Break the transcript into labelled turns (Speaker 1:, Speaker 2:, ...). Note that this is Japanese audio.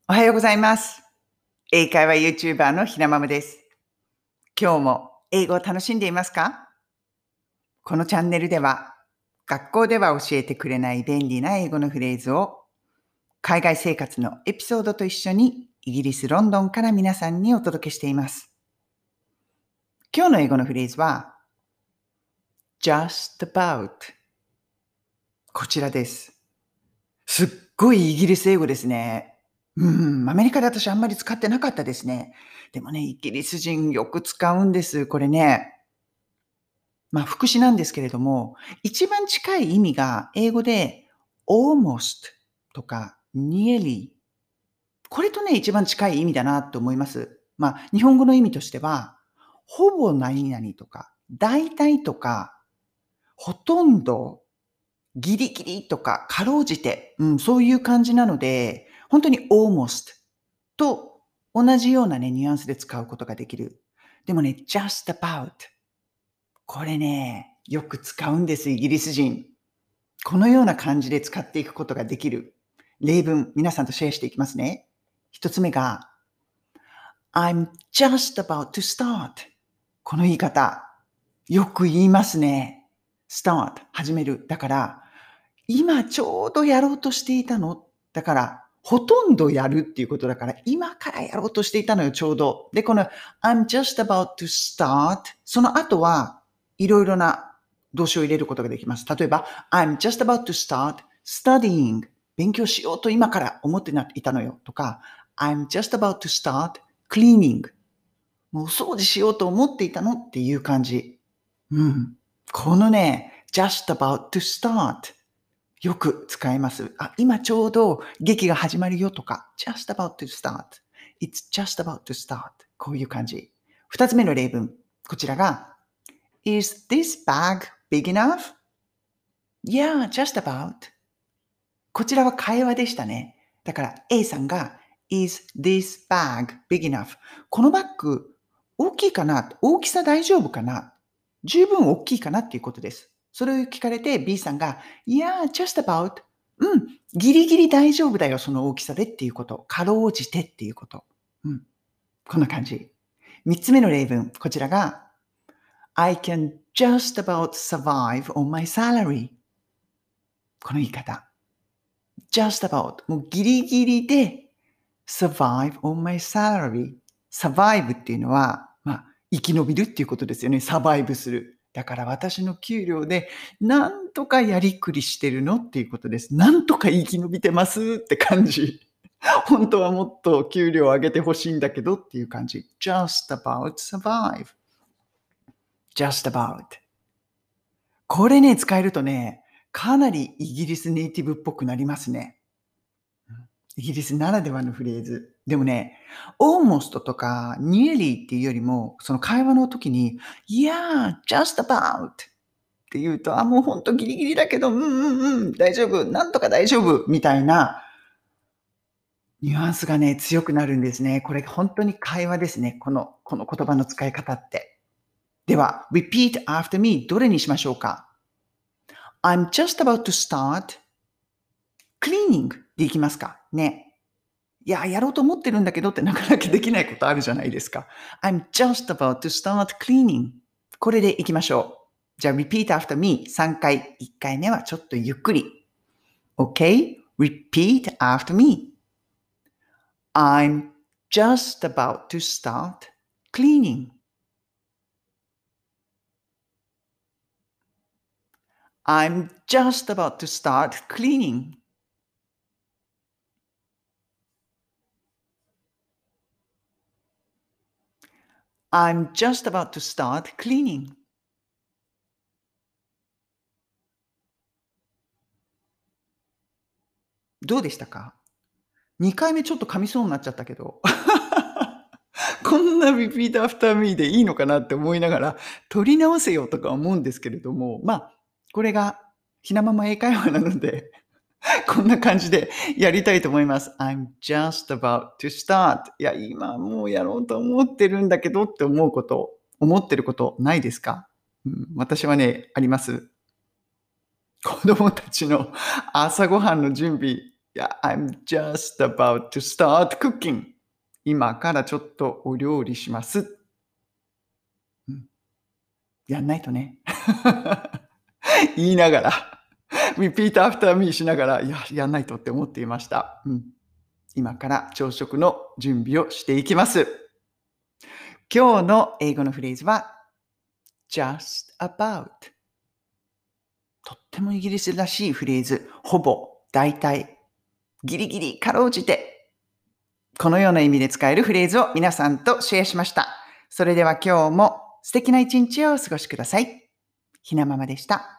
Speaker 1: おはようございます。英会話 YouTuber のひなまむです。今日も英語を楽しんでいますか？このチャンネルでは、学校では教えてくれない便利な英語のフレーズを、海外生活のエピソードと一緒にイギリス・ロンドンから皆さんにお届けしています。今日の英語のフレーズは、just about。こちらです。すっごいイギリス英語ですね。アメリカで私あんまり使ってなかったですね。でもね、イギリス人よく使うんです。これね。副詞なんですけれども、一番近い意味が英語で almost とか nearly。これとね、一番近い意味だなと思います。日本語の意味としては、ほぼ何々とか、大体とか、ほとんど、ギリギリとか、かろうじて、そういう感じなので、本当に almost と同じようなね、ニュアンスで使うことができる。でもね、just about。これね、よく使うんです、イギリス人。このような感じで使っていくことができる例文、皆さんとシェアしていきますね。一つ目が、I'm just about to start。この言い方、よく言いますね。start、始める。だから、今ちょうどやろうとしていたの。だから、ほとんどやるっていうことだから、今からやろうとしていたのよ、ちょうど。で、この I'm just about to start。その後は、いろいろな動詞を入れることができます。例えば、I'm just about to start studying。勉強しようと今から思っていたのよ。とか、I'm just about to start cleaning。もうお掃除しようと思っていたのっていう感じ。このね、just about to start。よく使います。今ちょうど劇が始まるよとか、just about to start。It's just about to start。こういう感じ。二つ目の例文。こちらが、Is this bag big enough? Yeah, just about。こちらは会話でしたね。だから A さんが Is this bag big enough? このバッグ大きいかな？大きさ大丈夫かな？十分大きいかなっていうことです。それを聞かれて B さんが Yeah, just about。ギリギリ大丈夫だよ、その大きさでっていうこと。かろうじてっていうこと。こんな感じ。三つ目の例文。こちらが I can just about survive on my salary。この言い方。just about もうギリギリで survive on my salary。survive っていうのは、生き延びるっていうことですよね。サバイブする。だから私の給料でなんとかやりくりしてるのっていうことです。なんとか生き延びてますって感じ。本当はもっと給料を上げてほしいんだけどっていう感じ。just about survive。just about。これね、使えるとね、かなりイギリスネイティブっぽくなりますね。イギリスならではのフレーズ。でもね、almost とか nearly っていうよりも、その会話の時に、yeah, just about って言うと、もうほんとギリギリだけど、大丈夫、なんとか大丈夫みたいなニュアンスがね、強くなるんですね。これ本当に会話ですね。この言葉の使い方って。では、repeat after me どれにしましょうか？ I'm just about to start cleaning でいきますかね。やろうと思ってるんだけどってなかなかできないことあるじゃないですか。I'm just about to start cleaning。これでいきましょう。じゃあ、repeat after me 3回。1回目はちょっとゆっくり。Okay? Repeat after me. I'm just about to start cleaning. I'm just about to start cleaning. I'm just about to start cleaning. どうでしたか？ 2 回目ちょっと噛みそうになっちゃったけど。こんな repeat after me でいいのかなって思いながら、取り直せよとか思うんですけれども、これがひなまま英会話なので、こんな感じでやりたいと思います。I'm just about to start. 今もうやろうと思ってるんだけどって思ってることないですか？私はね、あります。子供たちの朝ごはんの準備、 Yeah, I'm just about to start cooking. 今からちょっとお料理します。うん、やんないとね。言いながら、repeat after me しながら、いや、やんないとって思っていました。うん。今から朝食の準備をしていきます。今日の英語のフレーズは just about。とってもイギリスらしいフレーズ。ほぼ、大体、ギリギリ、かろうじて。このような意味で使えるフレーズを皆さんとシェアしました。それでは今日も素敵な一日をお過ごしください。ひなママでした。